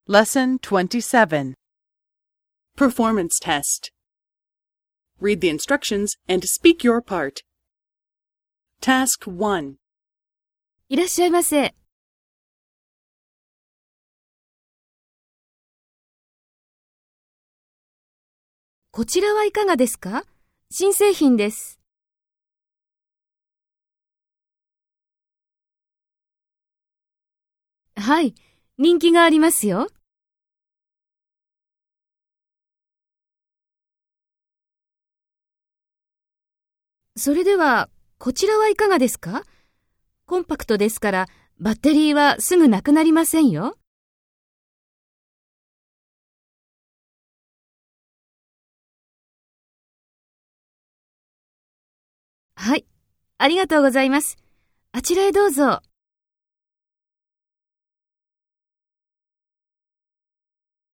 Lesson 27. Performance Test. Read the instructions and speak your part. Task 1. いらっしゃいませ。こちらはいかがですか？新製品です。はい、人気がありますよ。それでは、こちらはいかがですか？コンパクトですから、バッテリーはすぐなくなりませんよ。はい、ありがとうございます。あちらへどうぞ。